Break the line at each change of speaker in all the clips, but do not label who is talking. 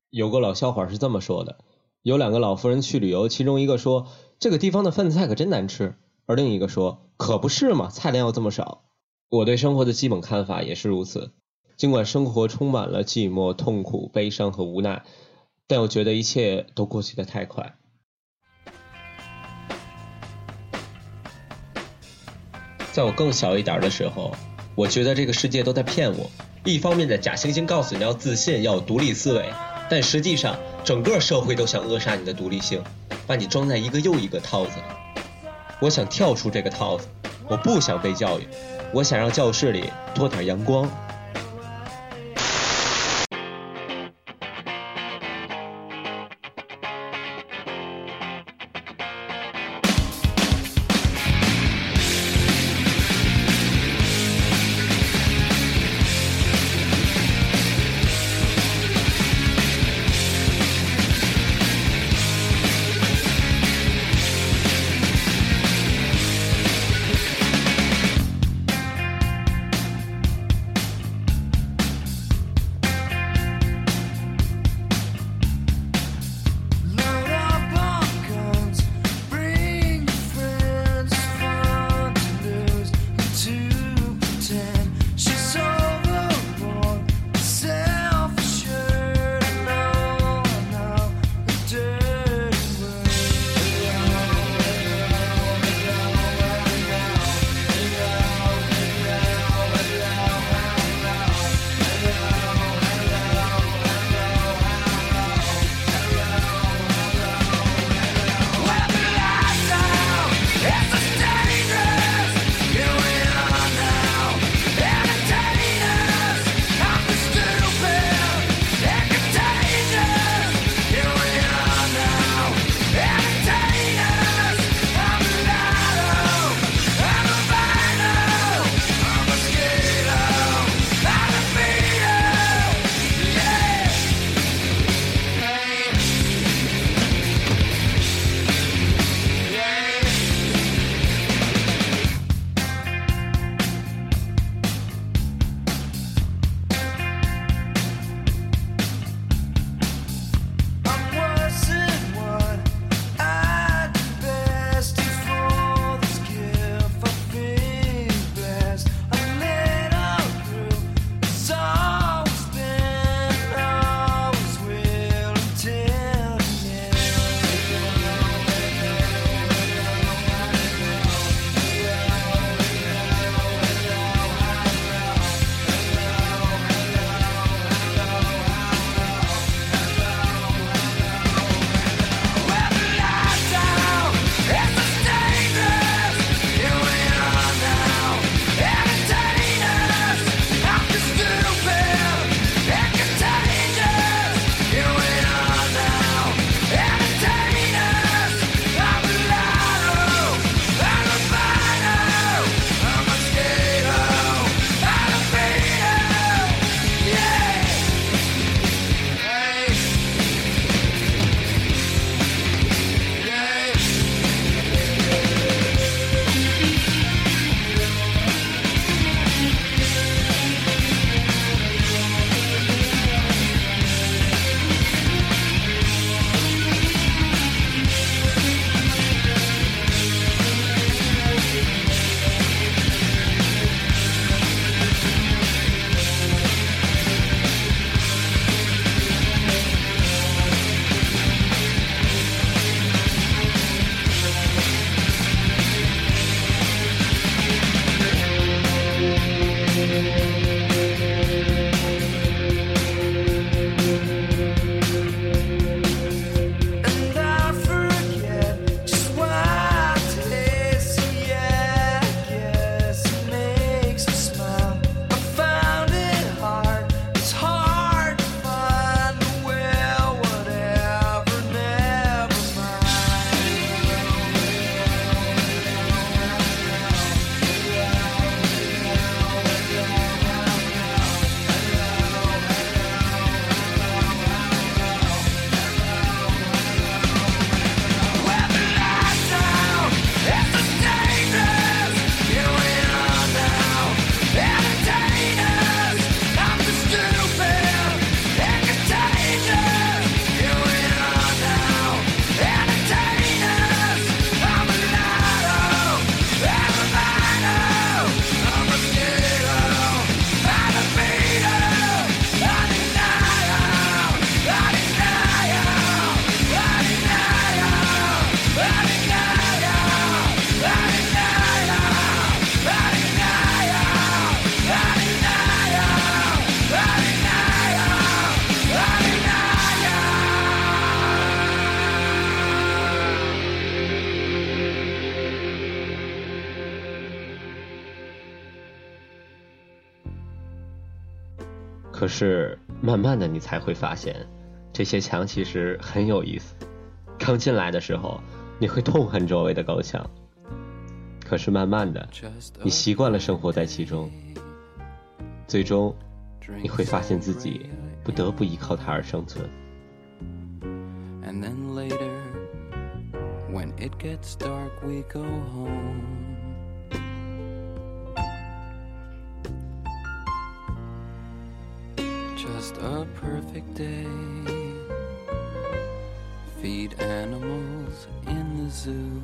有个老笑话是这么说的，有两个老妇人去旅游，其中一个说这个地方的饭菜可真难吃，而另一个说可不是嘛，菜量又这么少。我对生活的基本看法也是如此，尽管生活充满了寂寞、痛苦、悲伤和无奈，但我觉得一切都过去得太快。在我更小一点的时候，我觉得这个世界都在骗我，一方面的假惺惺告诉你要自信，要有独立思维，但实际上整个社会都想扼杀你的独立性，把你装在一个又一个套子里。我想跳出这个套子，我不想被教育，我想让教室里多点阳光。 可是慢慢的你才会发现，这些墙其实很有意思。刚进来的时候，你会痛恨周围的高墙，可是慢慢的，你习惯了生活在其中，最终你会发现自己不得不依靠它而生存。
And then later, when it gets dark, we go home. Just a perfect day. Feed animals in the zoo.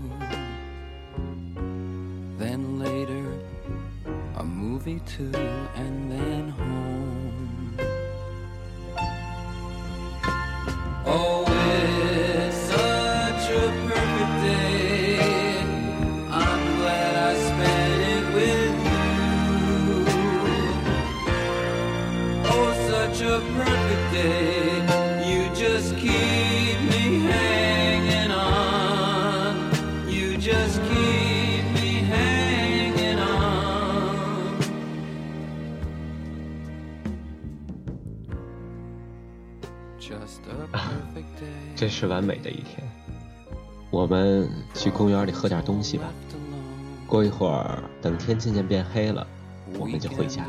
Then later, a movie too, and then home. Oh, it's such a perfect day. I'm glad I spent it with you. Oh, such a perfect day. You just keep me hanging on. You just keep me hanging on.
这是完美的一天，我们去公园里喝点东西吧。过一会儿，等天渐渐变黑了，我们就回家。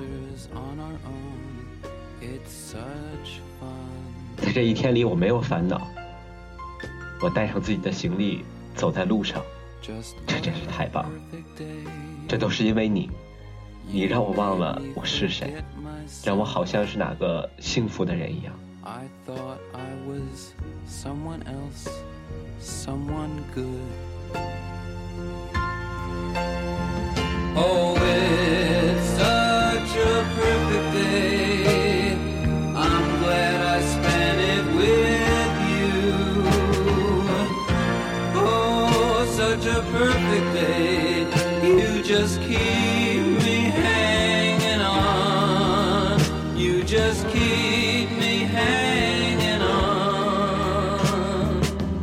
在这一天里，我没有烦恼。我带上自己的行李，走在路上，这真是太棒了。这都是因为你，你让我忘了我是谁，让我好像是哪个幸福的人一样。
I thought I was someone else, someone good. Oh, it's such a perfect day. I'm glad I spent it with you. Oh, such a perfect day. You just keep me hanging on. You just keep me hanging on.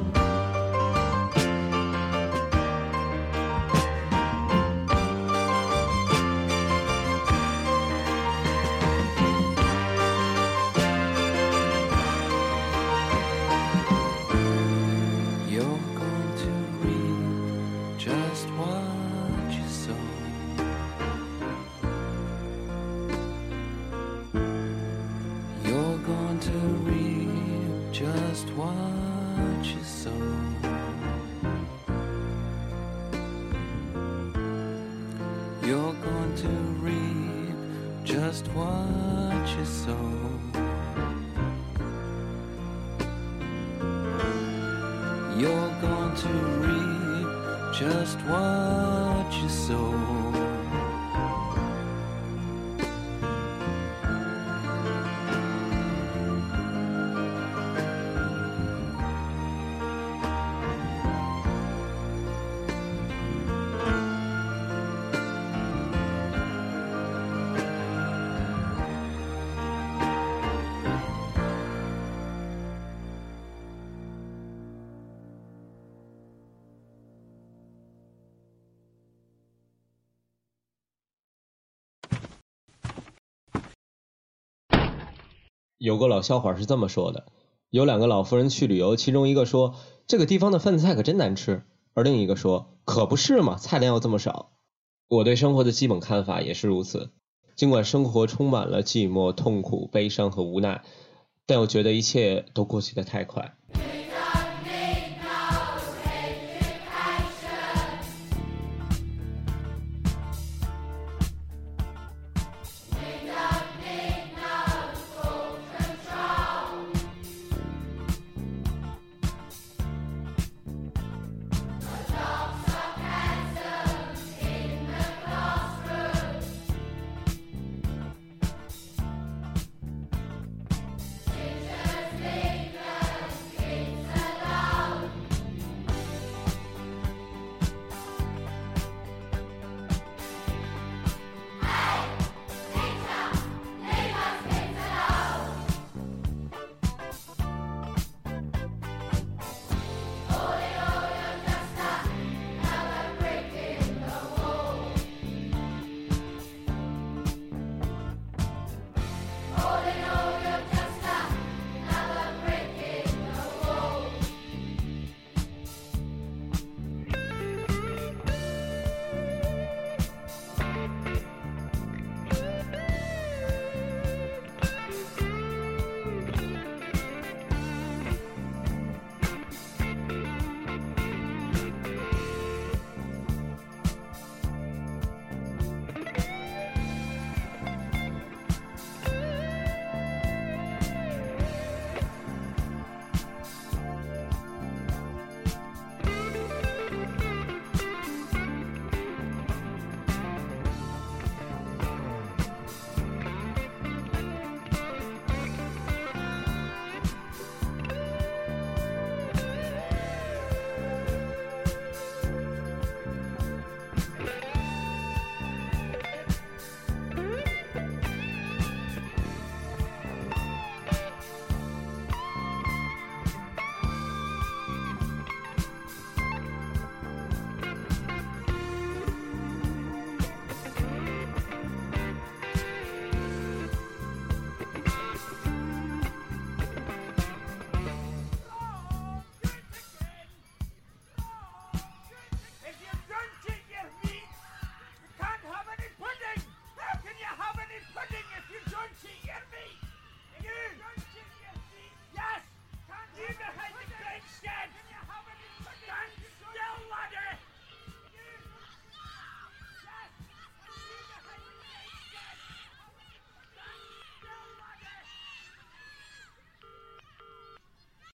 You're going to reap just what you sow. You're going to reap just what you sow. You're going to reap just what you sow. You're going to reap just what you sow.
有个老笑话是这么说的，有两个老妇人去旅游，其中一个说这个地方的饭菜可真难吃，而另一个说可不是嘛，菜量又这么少。我对生活的基本看法也是如此，尽管生活充满了寂寞、痛苦、悲伤和无奈，但我觉得一切都过去得太快。